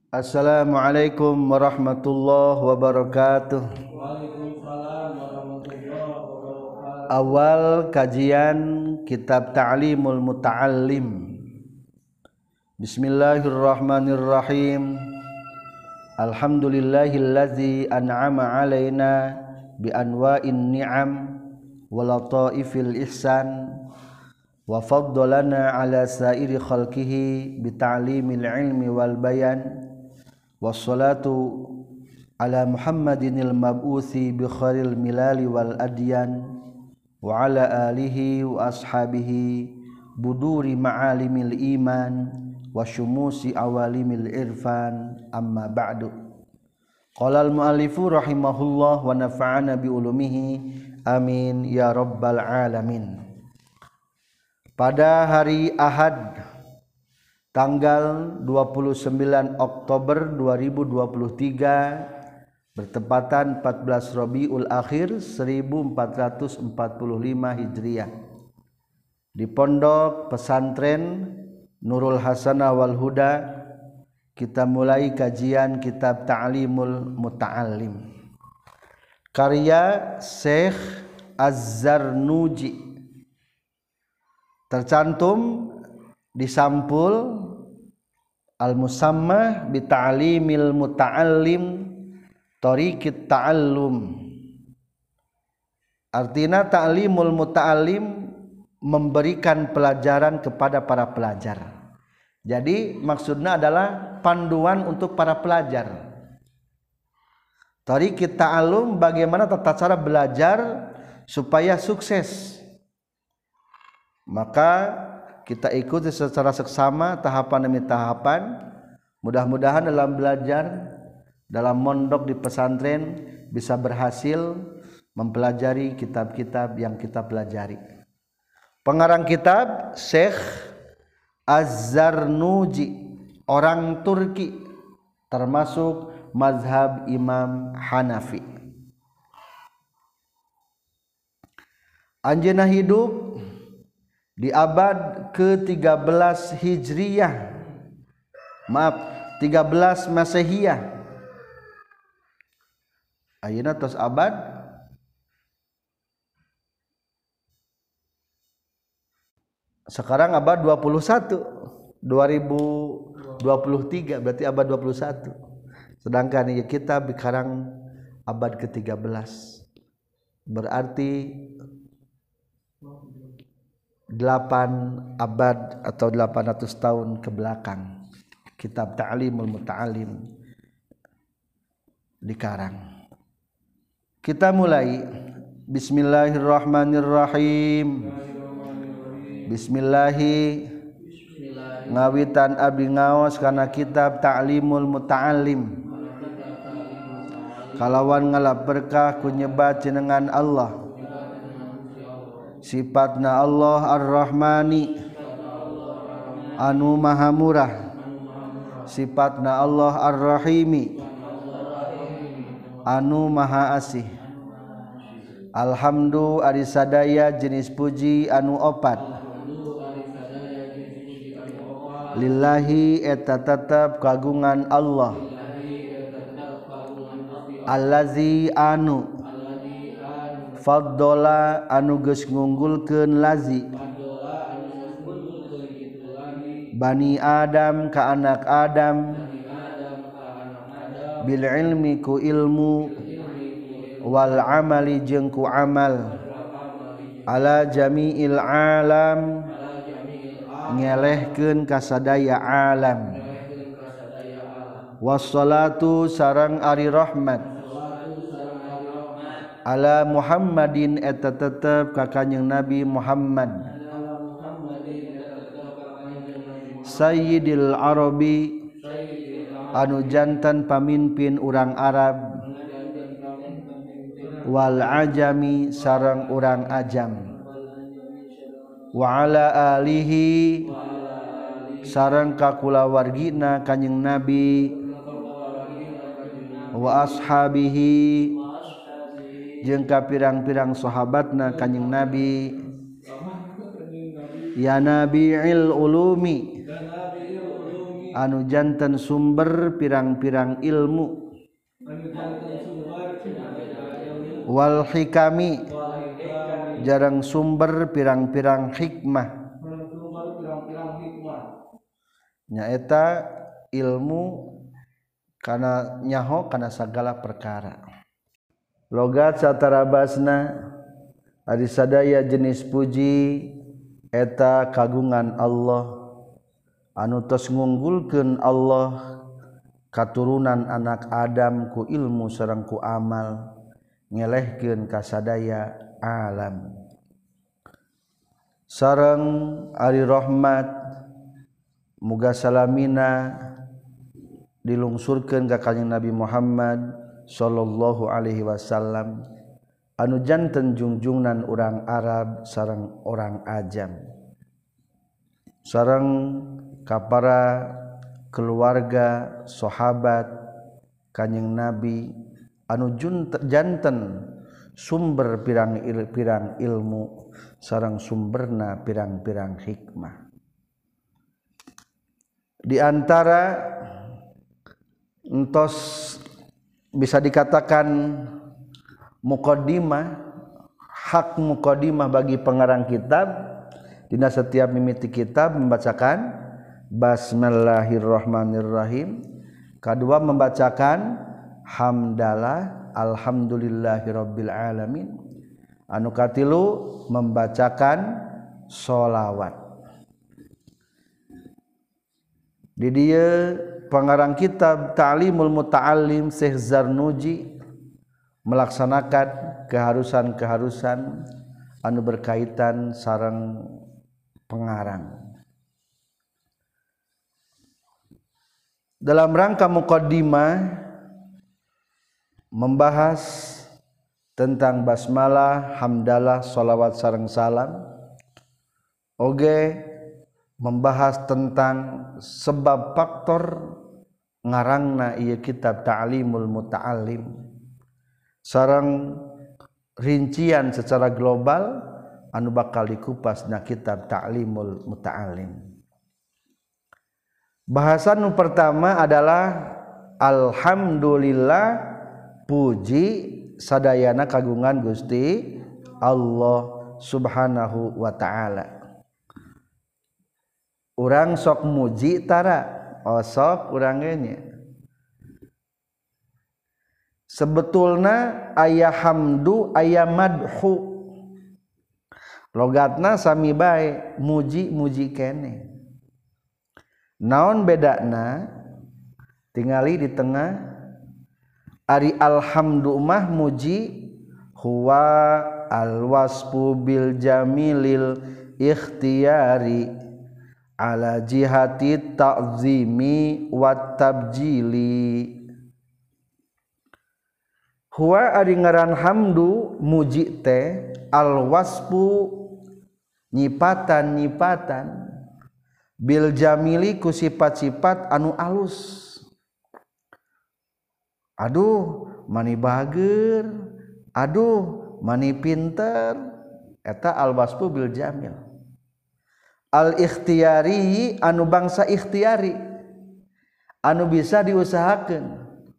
Assalamualaikum warahmatullahi wabarakatuh. Waalaikumsalam warahmatullahi wabarakatuh. Awal kajian kitab Ta'limul Muta'allim. Bismillahirrahmanirrahim. Alhamdulillahillazi an'ama alaina bi anwa'in ni'am wa lataifil ihsan wa faddalana ala sairi khalqihi bi ta'limil ilmi wal bayan. Wassalatu ala Muhammadinil mab'uthi bi khairil milali wal adyan wa ala alihi wa ashabihi buduri ma'alimil iman wa syumusi awalimil irfan amma ba'du. Qala al-muallifu rahimahullah wa nafa'ana bi ulumihi amin ya rabbal alamin. Pada hari Ahad tanggal 29 Oktober 2023 bertepatan 14 Rabiul Akhir 1445 Hijriah di Pondok Pesantren Nurul Hasanah wal Huda kita mulai kajian kitab Ta'limul Muta'allim karya Syekh Az-Zarnuji, tercantum di sampul al-musamma bi ta'limil muta'allim tariqit ta'allum. Artinya ta'limul muta'allim memberikan pelajaran kepada para pelajar. Jadi maksudnya adalah panduan untuk para pelajar. Tariqit ta'allum, bagaimana tata cara belajar supaya sukses. Maka kita ikuti secara seksama tahapan demi tahapan. Mudah-mudahan dalam belajar, dalam mondok di pesantren bisa berhasil mempelajari kitab-kitab yang kita pelajari. Pengarang kitab Syekh Az-Zarnuji, orang Turki, termasuk mazhab Imam Hanafi. Anjeunna hidup di abad ke-13 Hijriyah, 13 Masehiyah. Ayeuna tos abad sekarang abad 21, 2023 berarti abad 21. Sedangkan kita sekarang abad ke-13. Berarti 8 abad atau 800 tahun ke belakang kitab Ta'limul Muta'allim dikarang. Kita mulai. Bismillahirrahmanirrahim. Bismillahi ngawitan abdi ngaos kana kitab Ta'limul Muta'allim kalawan ngalap berkah ku nyebat jenengan Allah. Sifatna Allah Ar-Rahmani anu maha murah, sifatna Allah Ar-Rahimi anu maha asih. Alhamdu ari sadaya jenis puji anu opat, lillahi eta tetep kagungan Allah, allazi anu faddola anu geus ngunggulkeun lazi Bani Adam ka anak Adam bil ilmi ku ilmu wal amali jeung ku amal ala jami'il alam ngelehkeun ka sadaya alam. Wassalatu sareng ari rahmat ala Muhammadin eta tetep ka kanjing Nabi Muhammad Sayyidil Arabi anu jantan pamimpin urang Arab wal ajami sareng urang ajam wa ala alihi sareng ka kulawargina kanjing Nabi wa ashabihi jeung ka pirang-pirang sahabatna kanjing Nabi. Ya Nabi'il ulumi anu janten sumber pirang-pirang ilmu wal hikami jarang sumber pirang-pirang hikmah nyaeta ilmu kana nyaho kana sagala perkara logat satarabasna ari sadaya jenis puji eta kagungan Allah anu tos ngunggulkeun Allah katurunan anak Adam ku ilmu sareng ku amal ngelehkeun ka sadaya alam sareng ari rahmat muga salamina dilungsurkeun ka kanjeng Nabi Muhammad sallallahu alaihi wasallam anu janten jungjungan urang Arab sareng orang ajam sareng ka para keluarga sahabat kanjeng Nabi anu janten sumber pirang-pirang ilmu sareng sumberna pirang-pirang hikmah di antara entos bisa dikatakan muqaddimah hak muqaddimah bagi pengarang kitab dina setiap mimiti kitab membacakan Bismillahirrahmanirrahim kedua membacakan hamdalah alhamdulillahirabbil alamin anu katilu membacakan sholawat di dieu pengarang kitab Ta'limul Muta'allim Syekh Zarnuji melaksanakan keharusan-keharusan anu berkaitan sareng pengarang dalam rangka muqaddimah membahas tentang basmalah, hamdalah, sholawat sareng salam oge membahas tentang sebab faktor ngarangna ieu kitab Ta'limul Muta'allim sareng rincian secara global anu bakal dikupas na kitab Ta'limul Muta'allim. Bahasan nu pertama adalah alhamdulillah puji sadayana kagungan Gusti Allah Subhanahu wa taala. Urang sok muji tara sok urang ge nya. Sebetulna aya hamdu aya madhu. Logatna sami bae muji-muji keneh. Naon bedana tingali di tengah ari alhamdu mah muji huwa alwasfu bil jamilil ikhtiyari ala jihati ta'zimi wat tabjili huwa ari ngaran hamdu muji teh alwasfu nyipatan bil jamili ku sifat-sifat anu alus aduh mani bager aduh mani pinter eta al wasfu bil jamil al ikhtiyari anu bangsa ikhtiyari anu bisa diusahakeun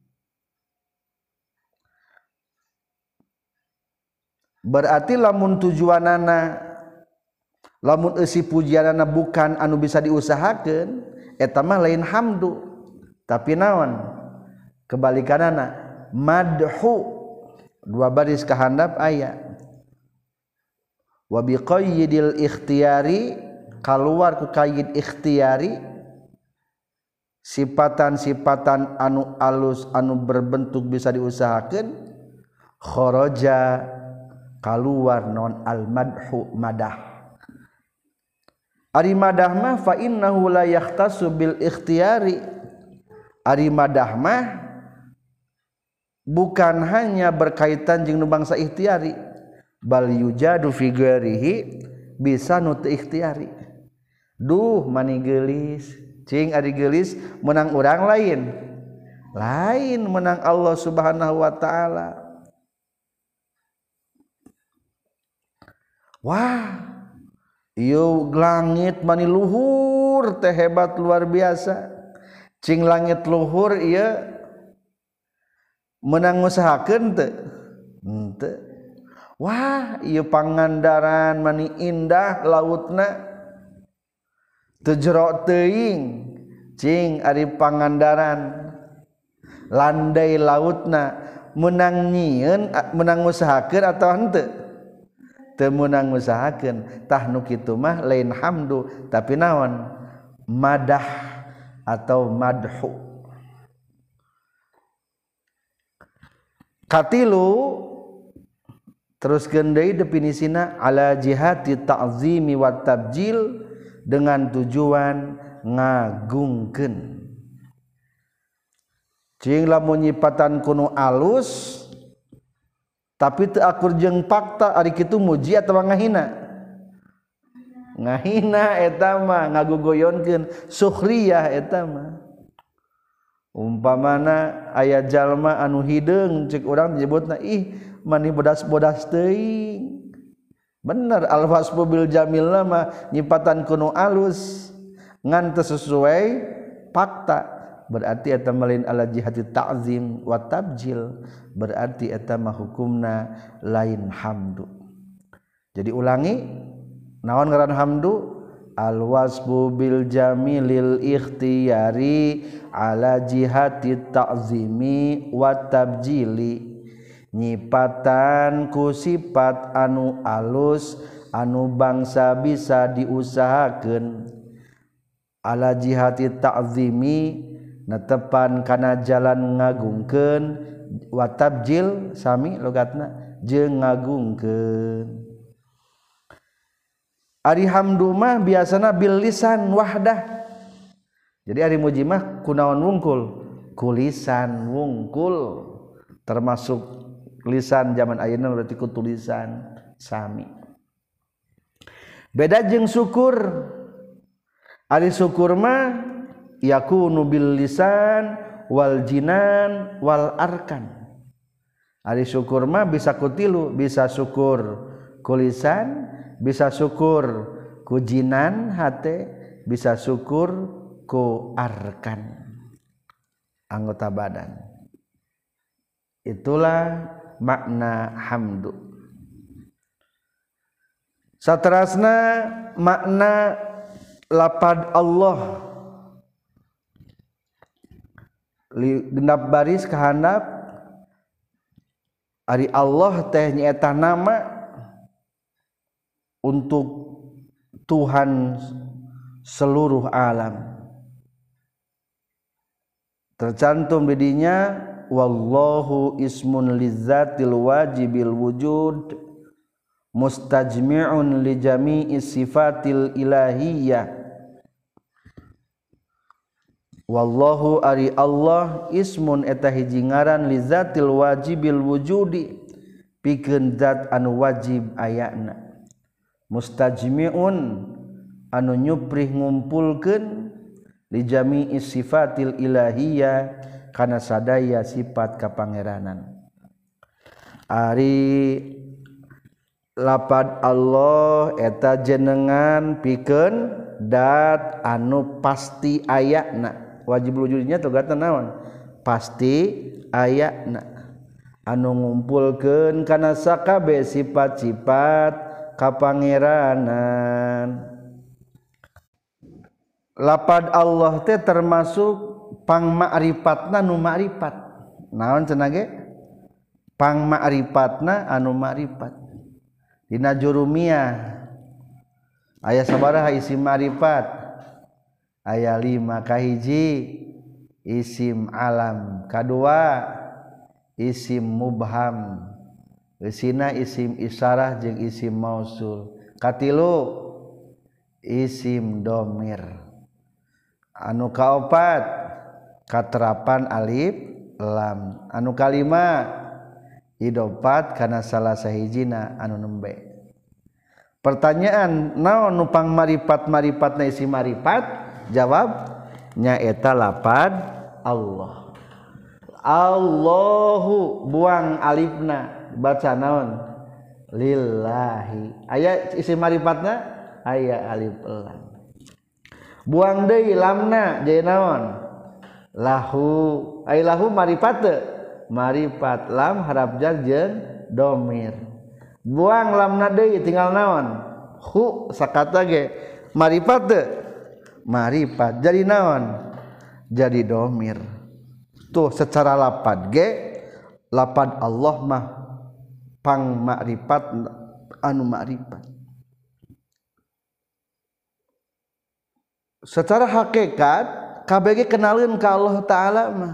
berarti lamun tujuanana lamun eusi pujianana bukan anu bisa diusahakeun eta mah lain hamdu tapi naon kebalikanana madhu dua baris kahandap aya wa biqayyidil ikhtiyari kaluar ku qayyid ikhtiyari sifatan-sifatan anu alus anu berbentuk bisa diusahakeun kharaja kaluar non al madhu madah ari madah mah fa innahu la yahtasu bil ikhtiyari ari madah mah bukan hanya berkaitan jeung nu bangsa ikhtiyari bal yujadu fi ghairihi bisa nu teu ikhtiyari duh mani geulis cing ari geulis menang urang lain menang Allah Subhanahu wa taala wah ieu langit mani luhur teh hebat luar biasa cing langit luhur ieu menang ngusahakeun teu henteu wah ieu Pangandaran mani indah lautna teu jero teuing cing ari Pangandaran landai lautna menang nyieun menang ngusahakeun atawa henteu teu meunang ngusahakeun tah nu kitu mah lain hamdu tapi naon madah atau madhu katilu terus deui definisina ala jihati ta'zimi wa tabjil dengan tujuan ngagungkeun cing lamun nyipatan kuno alus tapi teu akur jeung fakta ari kitu muji atawa ngahina eta mah ngagugoyonkeun sukhriyah eta mah umpamana aya jalma anu hideung cek urang disebutna ih mani bodas-bodas teuing bener al-wasfu bil jamilna mah nyipatan kuno alus ngan teu sesuai fakta berarti eta malin ala jihati ta'zim wa tabjil berarti eta mah hukumna lain hamdu jadi ulangi naon ngaran hamdu al wasbu bil jamilil ikhtiyari ala jihati ta'zimi wa tabjili nyipatan ku sifat anu alus anu bangsa bisa diusahakeun ala jihati ta'zimi netepan kana jalan ngagungkeun wa tabjil sami logatna jeung ngagungkeun ari hamdu mah biasana bil lisan wahdah jadi ari muji mah kunaon wungkul ku lisan wungkul termasuk lisan zaman ayeuna berarti ku tulisan sami beda jeung syukur ari syukur mah yakunu bil lisan wal jinan wal arkan ari syukur mah bisa kutilu bisa syukur ku lisan bisa syukur ku jinan hate bisa syukur ku arkan anggota badan itulah makna hamdu saterasna makna lapad Allah genap baris kahandap ari Allah teh nyaeta nama untuk Tuhan seluruh alam tercantum di dinya wallahu ismun lizzatil wajibil wujud mustajmi'un li jami'i sifatil ilahiyyah wallahu ari Allah ismun eta hiji ngaran li zatil wajibil wujudi pikeun zat anu wajib ayana mustajmi'un anu nyuprih ngumpulkeun li jami'i sifatil ilahiyah kana sadaya sifat kapangeranan ari lapad Allah eta jenengan pikeun dat anu pasti ayana wajib wujudnya togatna naon pasti ayana anu ngumpulkeun kana sakabeh sifat-sifat kapangeranan lapad Allah teh termasuk pangma'rifatna nu ma'rifat naon cenah ge pangma'rifatna anu ma'rifat dina jurumiyah aya sabaraha isim ma'rifat aya 5 kahiji isim alam kadua isim mubham eusina isim isyarah jeung isim mausul katilu isim domir anu kaopat katerapan alif lam anu kalima idofat kana salah sahijina anu nembe pertanyaan naon nu pangmaripat-maripatna isim marifat jawab nyaeta lapad Allah Allahu buang alifna baca naon lillahi aya isim marifatna aya alif lam buang deui lamna jadi naon lahu ai lahu marifat teu marifat lam harap jar jeung domir buang lamna deui tinggal naon hu sakata ge marifat teu marifat jadi naon jadi domir tuh secara lapad ge lapad Allah mah pang makrifat anu makrifat secara hakikat kabeh kenalin ka Allah taala mah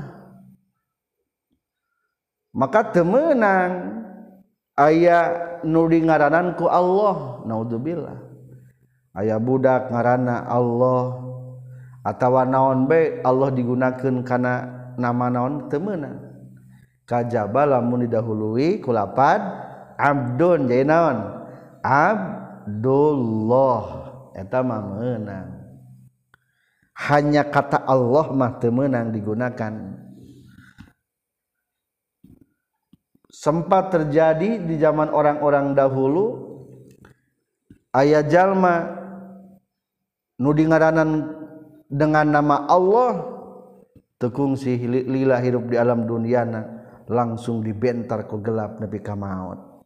maka teu meunang aya nu ngaranan ku Allah naudzubillah aya budak ngaranna Allah atawa naon bae Allah digunakeun kana nama naon teu meunang kajaba lamun didahului ku lapad abdun jadi naon Abdullah eta mah meunang hanya kata Allah mah teu meunang digunakan sempat terjadi di zaman orang-orang dahulu aya jalma nu dingaranan dengan nama Allah tekung si lila hirup di alam duniana langsung dibentar ku gelap nepi ka maut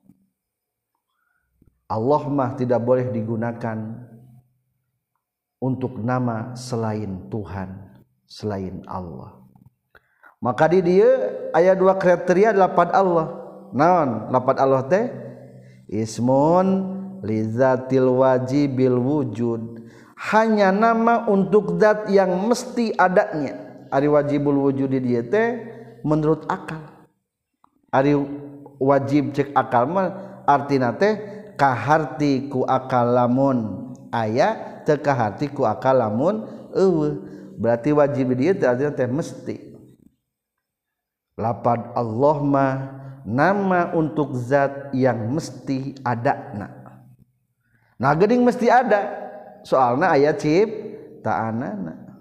Allah mah tidak boleh digunakan untuk nama selain Tuhan selain Allah maka di dieu aya dua kriteria lapad Allah naon lapad Allah teh ismun lizatil wajibil wujud hanya nama untuk zat yang mesti adanya ari wajibul wujud di dieu teh menurut akal ari wajib cek akal mah artina teh kaharti ku akal lamun aya teu kaharti ku akal lamun eueuh berarti wajib di dieu teh artina teh mesti lapad Allah mah nama untuk zat yang mesti ada nah geuning mesti ada soalna aya ciptaanana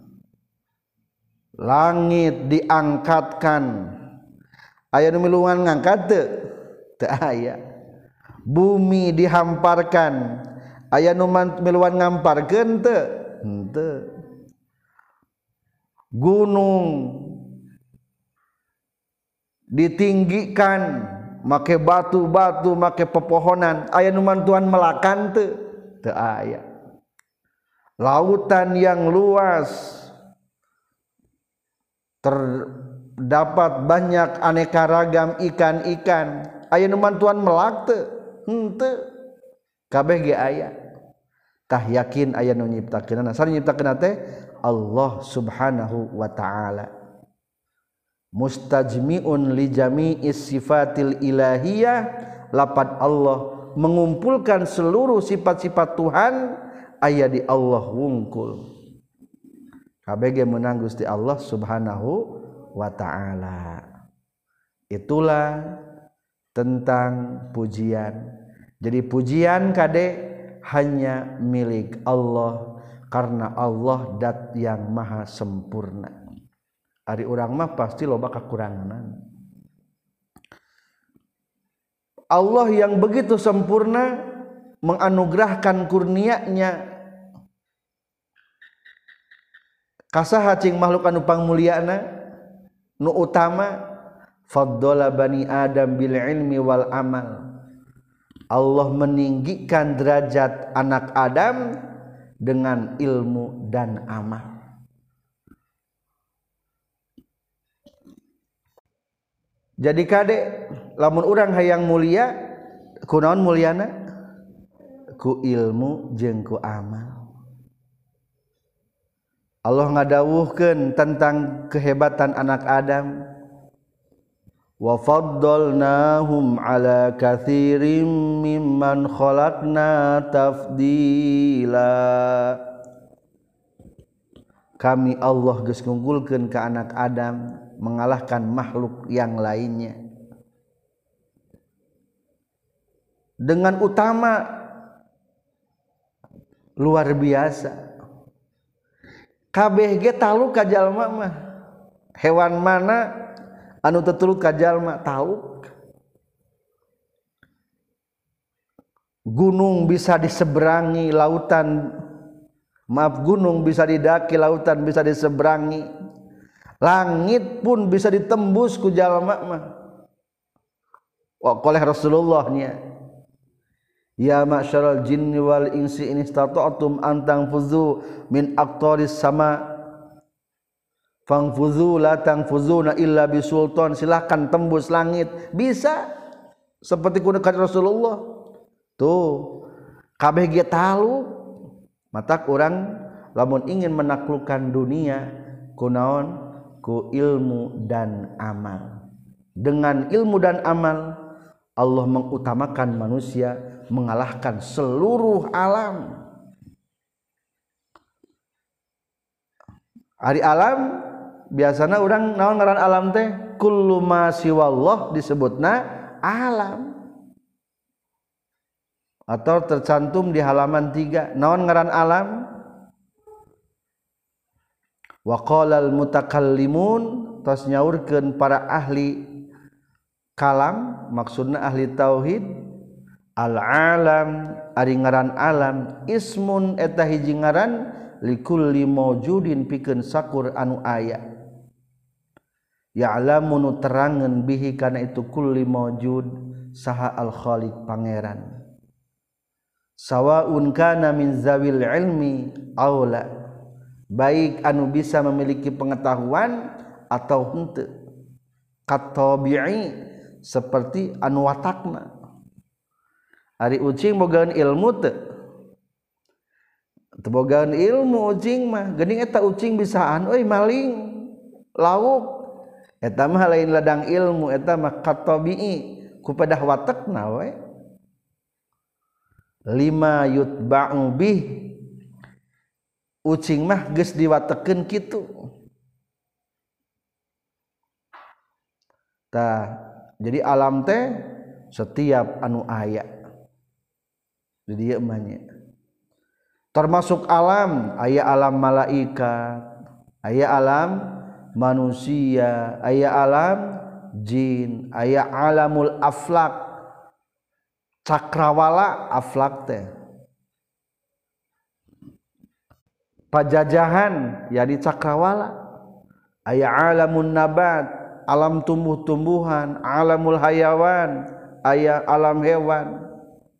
langit diangkatkan aya nu milungan ngangkat teu aya bumi dihamparkan aya nu miluan ngamparkeun teu henteu gunung ditinggikan make batu-batu make pepohonan aya nu mantuan melakan teu aya lautan yang luas terdapat banyak aneka ragam ikan-ikan aya nu mantuan melak teu henteu kabeh ge aya tah yakin aya nu nyiptakeunana sari nyiptakeunna teh Allah subhanahu wa ta'ala mustajmi'un li jami'is sifatil ilahiyah lapad Allah mengumpulkan seluruh sifat-sifat Tuhan aya di Allah wungkul kabeh ge meunang Gusti Allah subhanahu wa ta'ala itulah tentang pujian jadi pujian kade hanya milik Allah karena Allah dat yang maha sempurna ari urang mah pasti loba kakurangan Allah yang begitu sempurna menganugerahkan kurnia-Nya kasaha cing makhluk anu pangmulyana nu utama faddala bani Adam bil ilmi wal amal Allah meninggikan derajat anak Adam dengan ilmu dan amal jadi kade lamun urang hayang mulia kunaon mulyana ku ilmu jeung ku amal Allah ngadawuhkeun tentang kehebatan anak Adam wa faddalnahum ala katsirin mimman khalaqna tafdila kami Allah geus ngunggulkeun ka anak Adam mengalahkan makhluk yang lainnya dengan utama luar biasa kabeh ge talu ka jalma mah hewan mana anu tetuluk ka jalma tahu gunung bisa diseberangi lautan gunung bisa didaki lautan bisa diseberangi Langit pun bisa ditembus ku jalma mah. Oleh Rasulullahnya. Ya ma'syaral jinni wal insi in istata'tum an tanfuzu min aqtaris sama fangfuzu la tanfuzuna illa bisultan. Silakan tembus langit. Bisa. Seperti kunakan Rasulullah. Tuh. Kabeh ge talu. Matak urang lamun ingin menaklukkan dunia kunaon ku ilmu dan amal. Dengan ilmu dan amal Allah mengutamakan manusia mengalahkan seluruh alam. Ari alam biasana orang naon ngaran alam teh kullu ma siwallah disebutna alam. Atau tercantum di halaman 3 naon ngaran alam? Wa qala al mutakallimun tos nyaurkeun para ahli kalam maksudna ahli tauhid al alam ari ngaran alam ismun eta hiji ngaran likulli maujudin pikeun sakur anu aya ya'lamu nu terangeun bihi kana itu kulli maujud saha al khaliq pangeran sawaun kana min zawil ilmi aula baik anu bisa memiliki pengetahuan atau henteu katabi'i seperti anu watakna. Ari ucing bogaan ilmu teu? Teu bogaan ilmu ucing mah, geuning eta ucing bisaan euy maling, lauk. Eta mah lain ladang ilmu, eta mah katabi'i, ku padah watakna we. Lima yutba'u bih. Ucing mah geus diwatekeun kitu. Tah jadi alam teh setiap anu aya di dieu emanya. Termasuk alam, aya alam malaikat, aya alam manusia, aya alam jin, aya alamul aflak, cakrawala aflak teh. Pajajahan yani cakrawala, aya alamun nabat, alam tumbuh-tumbuhan, alamul hayawan, aya alam hewan.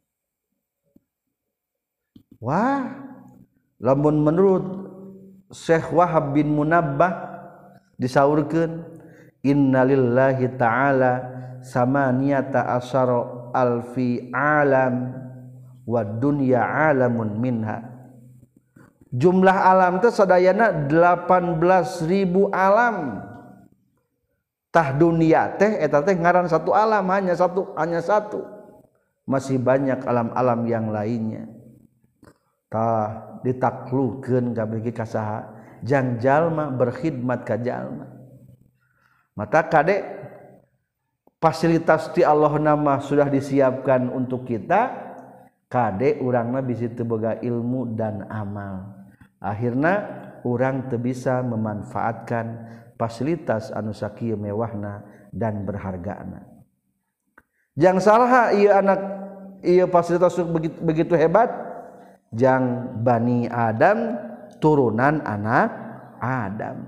Wah, lamun menurut Syekh Wahab bin Munabbah disaurkeun innalillahi ta'ala samaniyata asyara alfi alam wa dunya alamun minha. Jumlah alam teh sadayana 18.000 alam. Tah dunia teh eta teh ngaran satu alam hanya satu masih banyak alam-alam yang lainnya tah ditaklukkeun kabeh ka saha jang jalma berkhidmat ka jalma mata kade fasilitas ti Allah nama sudah disiapkan untuk kita kade urangna bisi teu boga ilmu dan amal akhirna urang teu bisa memanfaatkan fasilitas anu sakieu mewahna dan berhargana. Jang salah ieu anak ieu fasilitas begitu hebat jang Bani Adam turunan anak Adam.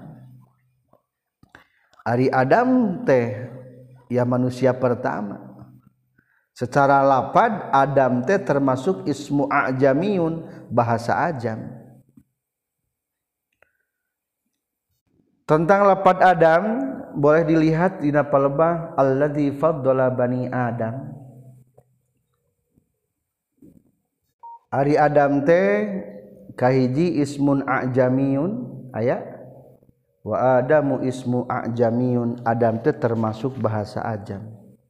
Ari Adam teh ya manusia pertama. Secara lapad Adam teh termasuk ismu a'jamiyun bahasa ajam. Tentang lapad Adam boleh dilihat di napalebah alladzi faddala bani Adam. Ari Adam teh kahiji ismun a'jamiyun aya wa Adamu ismu a'jamiyun Adam teh termasuk bahasa ajam.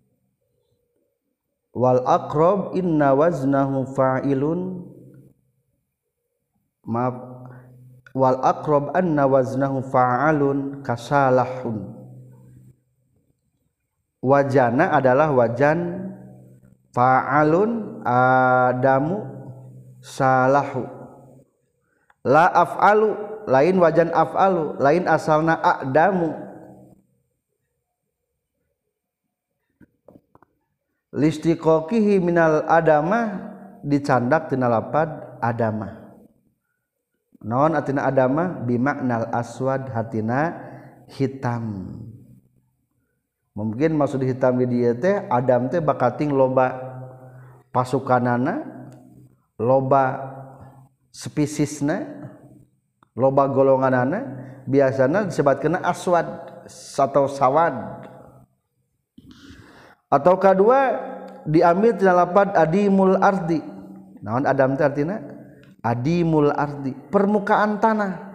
Wal aqrab inna waznahu fa'ilun maaf wal aqrab anna waznahu fa'alun kasalahun. Wajana adalah wajan fa'alun Adamu salahu. La af'alu lain wajan af'alu lain asalna Adamu. Listiqaqihi minal adamah dicandak tina lapad adamah. Naon artina adamah bimaknal aswad hatina hitam. Mungkin maksud hitam di dieu teh Adam teh bakating loba pasukanana, loba spesiesna, loba golonganana, biasana disebutkeun aswad atau sawad. Atau kedua diambil tina lapad adimul ardi. Naon Adam teh artina? Adimul ardi, permukaan tanah.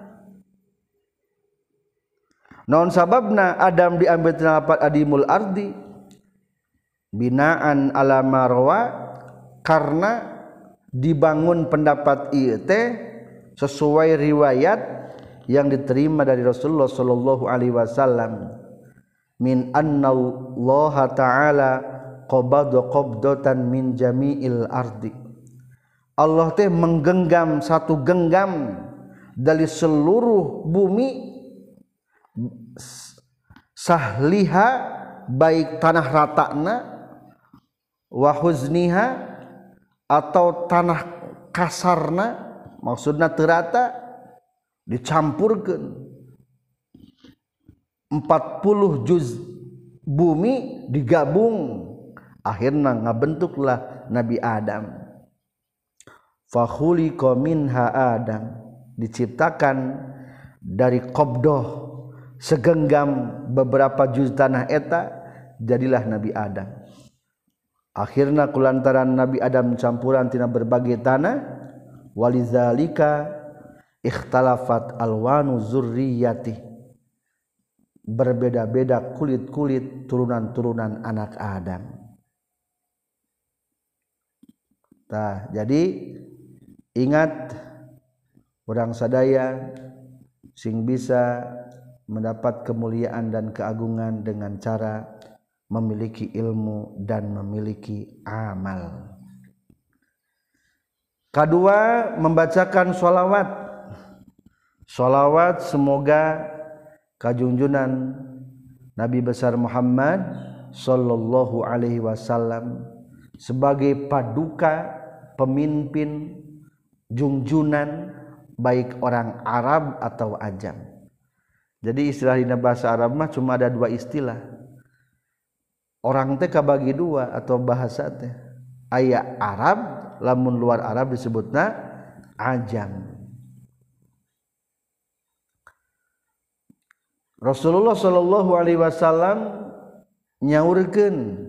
Naon sababna Adam diambil tina lapad adimul ardi? Binaan ala marwa, karena dibangun pendapat ieu teh sesuai riwayat yang diterima dari Rasulullah sallallahu alaihi wasallam min anna Allah taala qabada qabdatan min jami'il ardi. Allah teh menggenggam satu genggam dari seluruh bumi, sahliha baik tanah ratana, wa huzniha atau tanah kasarna, maksudna teu rata, dicampurkeun 40 juz bumi digabung, akhirna ngabentuklah Nabi Adam. Fa khuliqa minha Adam, diciptakan dari qabdah segenggam beberapa juz tanah eta, jadilah Nabi Adam. Akhirna kulantaran Nabi Adam campuran tina berbagai tanah, walizalika ikhtalafat alwanu zurriyati, berbeda-beda kulit-kulit turunan-turunan anak Adam. Tah, jadi ingat urang sadaya sing bisa mendapat kemuliaan dan keagungan dengan cara memiliki ilmu dan memiliki amal. Kedua, membacakan sholawat. Sholawat semoga kajunjunan Nabi besar Muhammad sallallahu alaihi wasallam sebagai paduka, pemimpin, junjunan baik orang Arab atau Ajam. Jadi istilah dina bahasa Arab mah cuma ada dua istilah. Orang teh kabagi dua atau bahasa teh. Aya Arab, lamun luar Arab disebutna Ajam. Rasulullah sallallahu alaihi wasallam nyaurkeun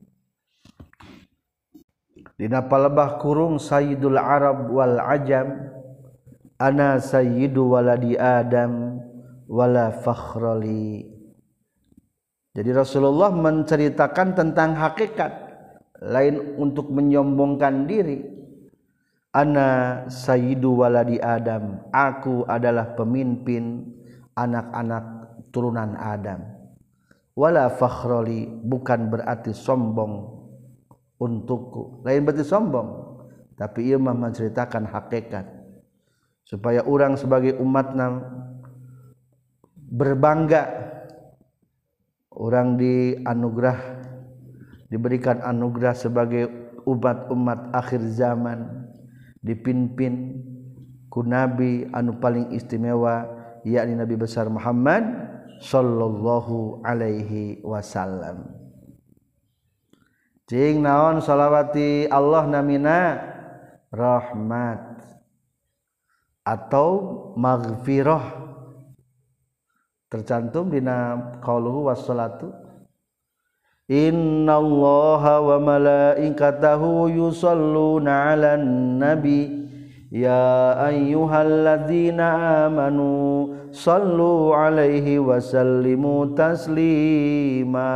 dina palebah kurung Sayyidul Arab wal Ajam, ana sayyidu waladi Adam wala fakhrali. Jadi Rasulullah menceritakan tentang hakikat, lain untuk menyombongkan diri. Ana sayyidu waladi Adam, aku adalah pemimpin anak-anak turunan Adam. Wala fakhrali, bukan berarti sombong untukku, lain berarti sombong, tapi ia menceritakan hakikat supaya orang sebagai umatna berbangga. Orang diberikan anugerah sebagai umat-umat akhir zaman, dipimpin ku Nabi anu paling istimewa, yakni Nabi besar Muhammad sallallahu alaihi wasallam. Cing naon sholawati Allah namina rahmat atau maghfirah, tercantum dina qauluhu wassalatu innallaha wa malaikatahu yusholluna 'alan nabi ya ayyuhalladzina amanu shallu 'alaihi wa sallimu taslima.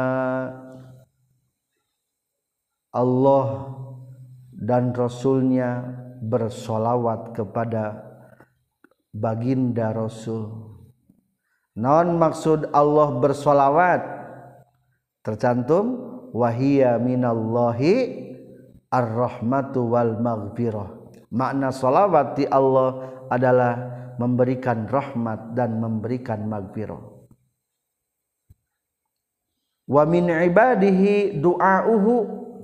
Allah dan Rasulnya bersolawat kepada baginda Rasul. Naon maksud Allah bersolawat? Tercantum wahiyya minallahi ar-rahmatu wal maghfirah. Makna solawat di Allah adalah memberikan rahmat dan memberikan maghfirah. Wa min ibadihi du'auhu,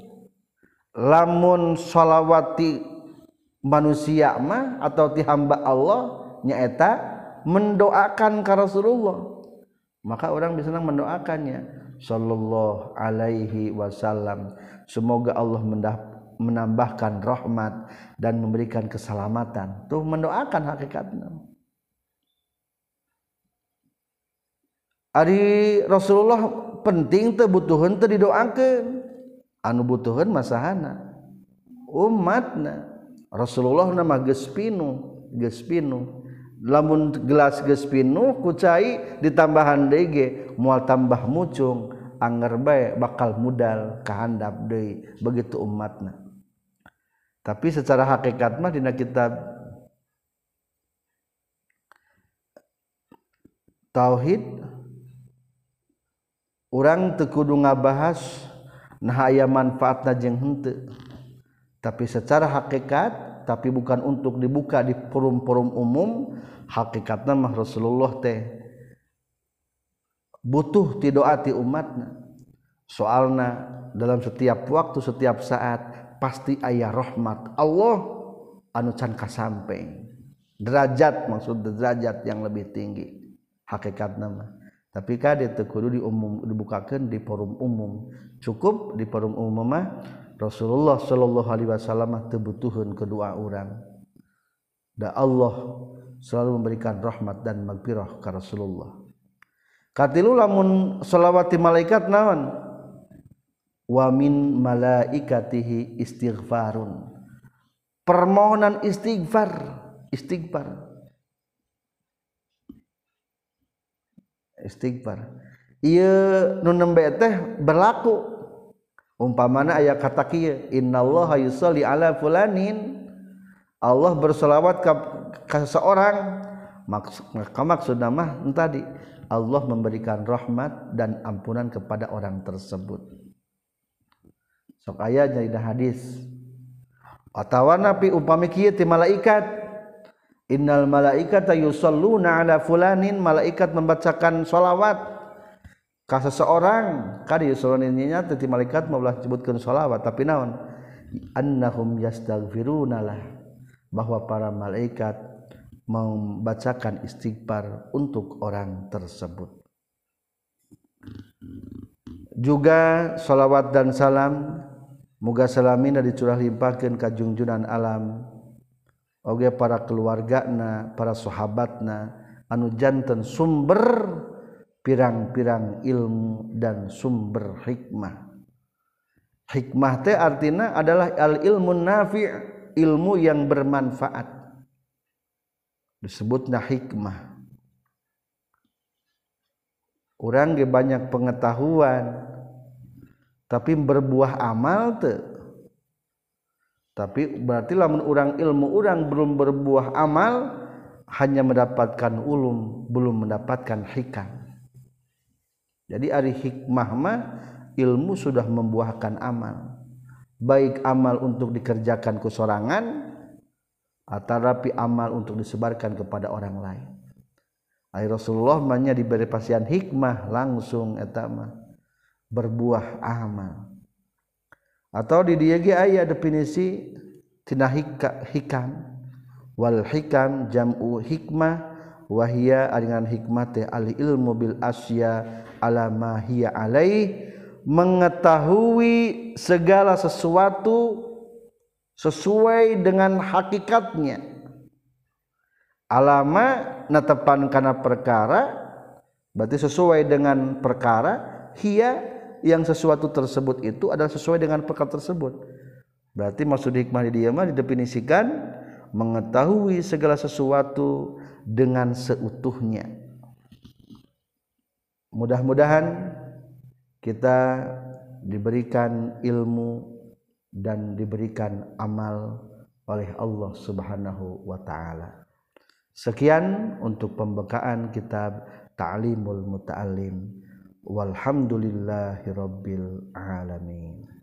lamun solawati manusia mah atau ti hamba Allah nyaeta mendoakan ka Rasulullah, maka orang bisa mendoakannya sallallahu alaihi wasallam, semoga Allah menambahkan rahmat dan memberikan keselamatan. Tuh mendoakan hakikatnya. Ari Rasulullah penting teu butuheun teu didoakeun. Anu butuheun masahana umatna. Rasulullah nama geus pinu. Lamun gelas geus pinu ku cai ditambahan deui ge moal tambah mucung, anger bae bakal mudal kahandap deui, begitu umatna. Tapi secara hakikat mah dina kitab tauhid urang teu kudu ngabahas nah aya manfaatna jeung henteu. Tapi secara hakikat, tapi bukan untuk dibuka di forum-forum umum, hakikatna mah Rasulullah teh butuh ti doa ti umatna. Soalna dalam setiap waktu, setiap saat pasti aya rahmat Allah anu can kasampeng. Derajat, maksud derajat yang lebih tinggi hakikatna mah. Tapi kade teu kudu dibukakeun di forum umum. Cukup di forum umum mah Rasulullah sallallahu alaihi wasallam teu butuheun kedua urang. Da Allah selalu memberikan rahmat dan magfirah ka Rasulullah. Katilu lamun shalawat malaikat naon? Wa min malaikatihi istighfarun. Permohonan istighfar. Ieu nu nembe teh berlaku. Umpamana aya kata kieu, innallaha yusolli ala fulanin, Allah berselawat ka seseorang, maka maksudna mah tadi Allah memberikan rahmat dan ampunan kepada orang tersebut. Sok aya dina hadis. Atawa napi upami kieu ti malaikat, innal malaikata yusalluna ala fulanin, malaikat membacakan shalawat ka seseorang. Kadi yusalluna teh ti malaikat maulah disebutkeun shalawat, tapi naon? Annahum yastaghfirunalah, bahwa para malaikat membacakan istighfar untuk orang tersebut. Juga shalawat dan salam muga salamina dicurah limpahkeun ka junjunan alam, oge para keluargana, para sahabatna anu janten sumber pirang-pirang ilmu dan sumber hikmah. Hikmah teh artina adalah al ilmun nafi', ilmu yang bermanfaat. Disebutna hikmah. Urang ge banyak pengetahuan tapi berbuah amal teu. Tapi berarti lamun urang ilmu urang belum berbuah amal, hanya mendapatkan ulum, belum mendapatkan hikam. Jadi ari hikmah mah ilmu sudah membuahkan amal. Baik amal untuk dikerjakan ku sorangan atarapi amal untuk disebarkan kepada orang lain. Ai Rasulullah manya diberi pasian hikmah langsung eta mah berbuah amal. Atau di dieu ge aya definisi tina hikam. Wal hikam jam'u hikmah wa hiya dengan hikmah teh al ilmu bil asya ala ma hiya alaih, mengetahui segala sesuatu sesuai dengan hakikatnya. Alama natepan kana perkara, berarti sesuai dengan perkara. Hiya yang sesuatu tersebut itu adalah sesuai dengan perkara tersebut. Berarti maksud hikmah di dia mah didefinisikan mengetahui segala sesuatu dengan seutuhnya. Mudah-mudahan kita diberikan ilmu dan diberikan amal oleh Allah Subhanahu wa taala. Sekian untuk pembukaan kitab Ta'limul Muta'allim. Walhamdulillahirabbil alamin.